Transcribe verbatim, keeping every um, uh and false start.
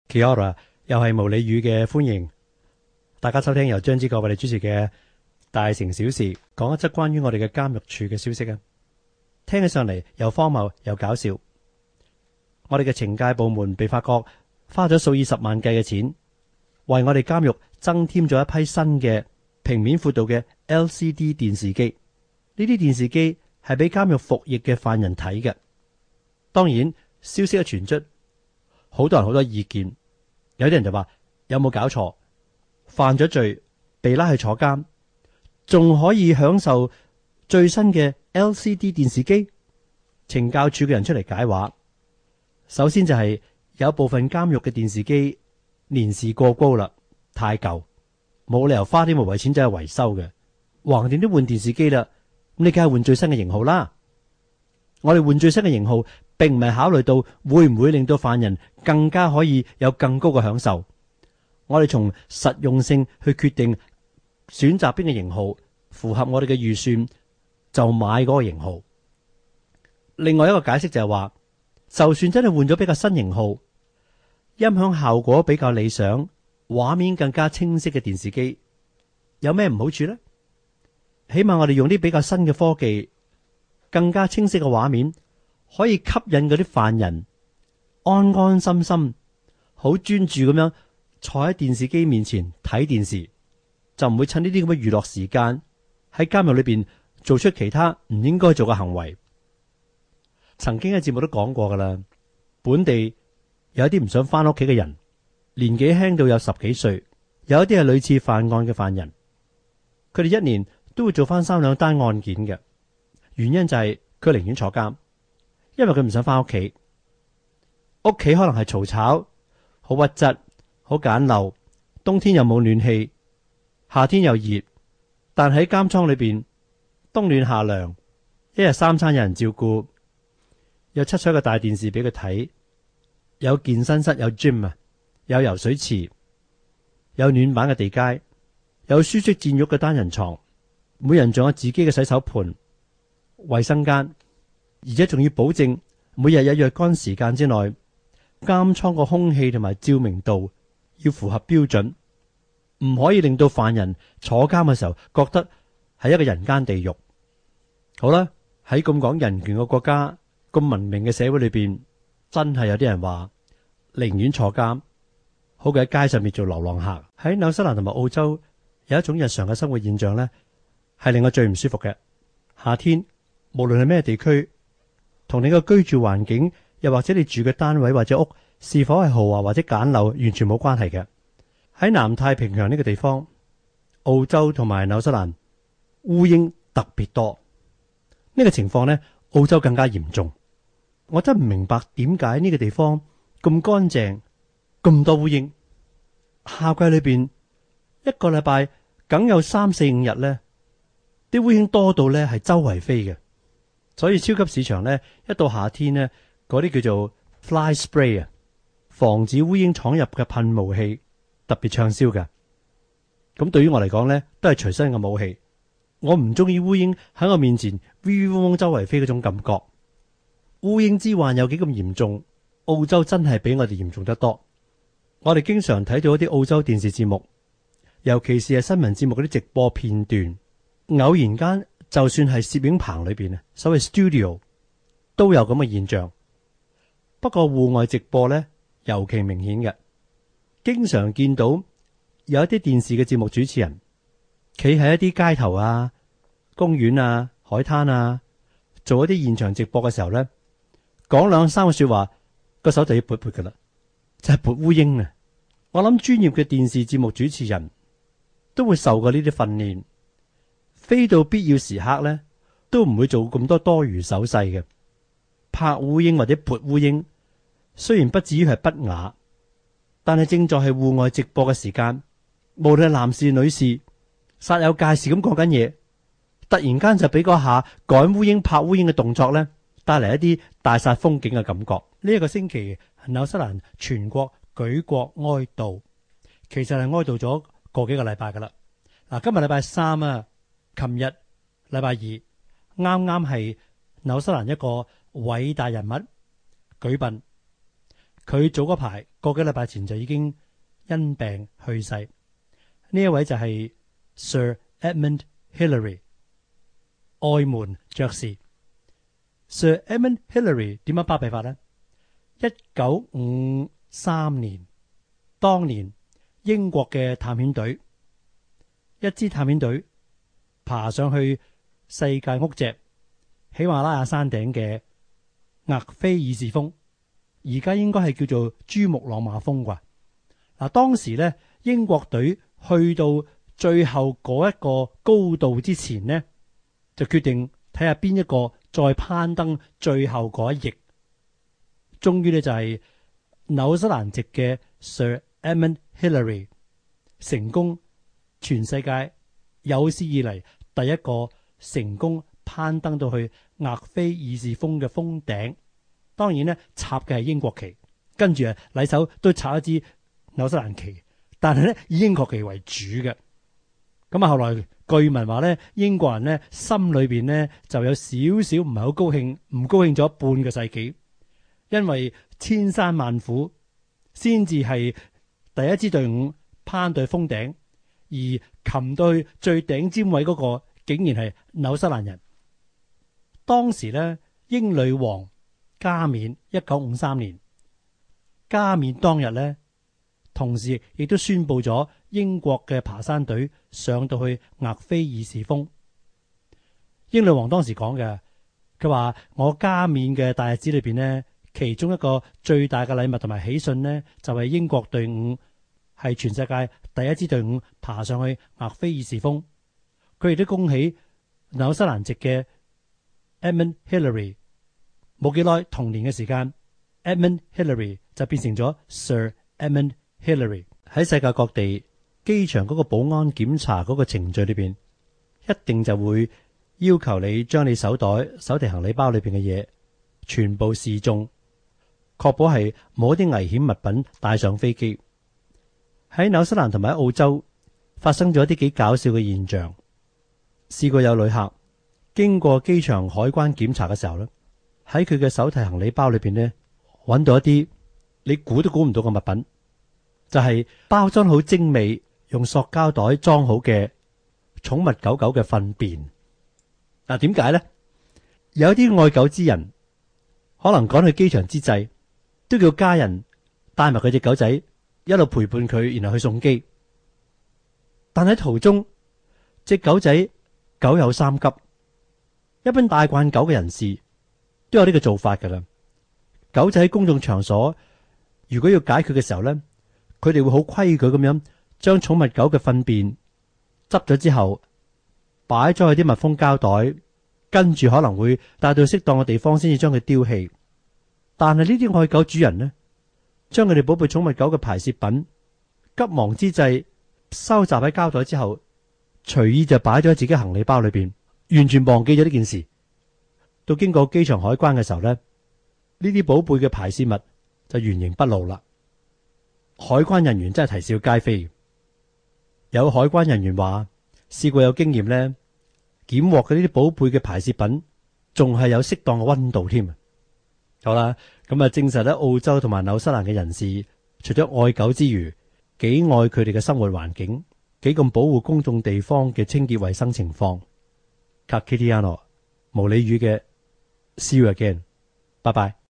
Kia ora，又係無理語嘅歡迎，大家收聽由張之國為你主持嘅大城小事，講一則關於我哋嘅監獄處嘅消息啊！聽起上嚟又荒謬又搞笑。我哋嘅懲戒部門被發覺花咗數以十萬計嘅錢，為我哋監獄增添咗一批新嘅平面闊度嘅 L C D 電視機。呢啲電視機係俾監獄服役嘅犯人睇嘅。當然，消息一傳出，好多人好多意見。有啲人就話有冇搞錯？犯咗罪被拉去坐監，仲可以享受最新嘅 L C D 電視機？懲教處嘅人出嚟解話，首先就係有部分監獄嘅電視機年事過高啦，太舊，冇理由花啲無謂錢走去維修嘅。橫掂都換電視機啦，咁你梗係換最新嘅型號啦。我哋換最新嘅型號，並唔係考慮到會唔會令到犯人更加可以有更高嘅享受。我哋從實用性去決定選擇邊個型號符合我哋嘅預算，就買嗰個型號。另外一個解釋就係話，就算真係換咗比較新型號，音響效果比較理想，畫面更加清晰嘅電視機，有咩唔好處呢？起碼我哋用啲比較新嘅科技，更加清晰嘅畫面，可以吸引嗰啲犯人安安心心好專注咁樣坐喺電視機面前睇電視，就唔會趁呢啲咁嘅娛樂時間喺監獄裏邊做出其他唔應該做嘅行為。曾經喺節目都講過噶啦，本地有一啲唔想翻屋企嘅人，年紀輕到有十幾歲，有一啲係類似犯案嘅犯人，佢哋一年都會做翻三兩單案件嘅。原因就係佢寧願坐監，因為佢唔想翻屋企。屋企可能係嘈吵、好屈質、好簡陋，冬天又冇暖氣，夏天又熱。但喺監倉裏邊，冬暖夏涼，一日三餐有人照顧，有七彩嘅大電視俾佢睇，有健身室，有 gym 啊，有游水池，有暖板嘅地階，有舒適墊褥嘅單人床，每人仲有自己嘅洗手盆、衛生間，而且仲要保證每日有若干時間之內，監倉個空氣同埋照明度要符合標準，唔可以令到犯人坐監嘅時候覺得係一個人間地獄。好啦，喺咁講人權嘅國家，咁文明嘅社會裏邊，真係有啲人話寧願坐監，好過喺街上面做流浪客。喺紐西蘭同埋澳洲有一種日常嘅生活現象呢，係令我最唔舒服嘅。夏天無論係咩地區，同你嘅居住環境，又或者你住嘅單位或者屋是否係豪華或者簡陋，完全冇關係嘅。喺南太平洋呢個地方，澳洲同埋紐西蘭烏蠅特別多。呢個情況呢，澳洲更加嚴重。我真唔明白點解呢個地方咁乾淨，咁多烏蠅。夏季裏邊一個禮拜梗有三四五日呢，啲烏蠅多到呢係周圍飛嘅。所以超級市場呢，一到夏天呢，嗰啲叫做 fly spray 啊，防止烏蠅闖入嘅噴霧器特別暢銷嘅。咁對於我嚟講呢，都係隨身嘅武器。我唔中意烏蠅喺我面前 v 嗡嗡周圍飛嗰種感覺。烏蠅之患有幾咁嚴重，澳洲真係比我哋嚴重得多。我哋經常睇到一啲澳洲電視節目，尤其是係新聞節目嗰啲直播片段，偶然間就算係攝影棚裏邊啊，所謂 studio 都有咁嘅現象。不過戶外直播呢，尤其明顯嘅，經常見到有一啲電視嘅節目主持人企喺一啲街頭啊、公園啊、海灘啊，做一啲現場直播嘅時候呢，講兩三個說話，個手就要撥撥噶啦，就係撥烏蠅啊！我諗專業嘅電視節目主持人都會受過呢啲訓練，非到必要時刻呢，都唔會做咁多多餘手勢嘅。拍烏蠅或者撥烏蠅，雖然不至於係不雅，但係正在係戶外直播嘅時間，無論係男士女士，煞有介事咁講緊嘢，突然間就俾嗰下趕烏蠅拍烏蠅嘅動作呢，帶嚟一啲大煞風景嘅感覺。呢、這、一個星期紐西蘭全國舉國哀悼，其實係哀悼咗個幾個禮拜噶啦。嗱，今日禮拜三啊，琴日禮拜二，啱啱係紐西蘭一個偉大人物舉殯。 佢早嗰排個幾禮拜前就已經因病去世。呢一位就係 Sir Edmund Hillary， 愛門爵士。Sir Edmund Hillary 點樣巴閉法呢？一九五三年，當年英國嘅探險隊，一支探險隊爬上去世界屋脊喜馬拉雅山頂嘅額菲爾士峰，而家應該係叫做珠穆朗瑪峰啩。嗱，當時咧英國隊去到最後嗰一個高度之前呢，就決定睇下邊一個再攀登最後嗰一翼。終於呢，就係紐西蘭籍嘅 Sir Edmund Hillary 成功，全世界有史以嚟第一個成功攀登到去額菲爾士峰嘅峰頂。當然呢，插嘅係英國旗，跟住啊禮手都插一支紐西蘭旗，但係咧以英國旗為主嘅。咁啊後來據聞話咧，英國人咧心裏邊咧就有少少唔係好高興，唔高興咗半個世紀，因為千山萬苦先至係第一支隊伍攀到峰頂，而擒到去最頂尖位嗰個竟然係紐西蘭人。當時咧英女王加冕一九五三年加冕當日咧，同時亦都宣布咗英國嘅爬山隊上到去額菲爾士峰。英女王當時講嘅，佢話我加冕嘅大日子裏邊呢，其中一個最大嘅禮物同埋喜訊呢，就係英國隊伍係全世界第一支隊伍爬上去額菲爾士峰。佢亦都恭喜紐西蘭籍嘅 Edmund Hillary。冇幾耐，同年嘅時間 Edmund Hillary 就變成咗 Sir Edmund Hillary。喺世界各地機場嗰個保安檢查嗰個程序裏邊，一定就會要求你將你手袋、手提行李包裏邊嘅嘢全部示眾，確保係冇一啲危險物品帶上飛機。喺紐西蘭同埋喺澳洲發生咗一啲幾搞笑嘅現象，試過有旅客經過機場海關檢查嘅時候咧，喺佢嘅手提行李包裏邊呢，揾到一啲你估都估唔到嘅物品，就係包裝好精美，用塑膠袋裝好嘅寵物狗狗嘅糞便。嗱，點解呢？有啲愛狗之人可能趕去機場之際，都叫家人帶埋佢隻狗仔一路陪伴佢，然後去送機。但喺途中，隻狗仔狗有三急，一般帶慣狗嘅人士都有呢個做法噶啦。狗仔喺公眾場所如果要解決嘅時候呢，佢哋會好規矩咁樣將寵物狗嘅糞便執咗之後擺咗去啲密封膠袋，跟住可能會帶到適當嘅地方先至將佢丟棄。但係呢啲愛狗主人呢，將佢哋寶貝寵物狗嘅排泄品急忙之際收集喺膠袋之後，隨意就擺咗喺自己行李包裏邊，完全忘記咗呢件事。到經過機場海關嘅時候呢，呢啲寶貝嘅排泄物就原形畢露啦。海關人員真係啼笑皆非。有海關人員話試過有經驗呢，檢獲嘅呢啲寶貝嘅排泄品仲係有適當嘅溫度添。好啦，咁啊證實咧，澳洲同埋紐西蘭嘅人士除咗愛狗之餘，幾愛佢哋嘅生活環境，幾咁保護公眾地方嘅清潔衛生情況。Ka kite ano， 毛里語嘅 See you again， 拜拜。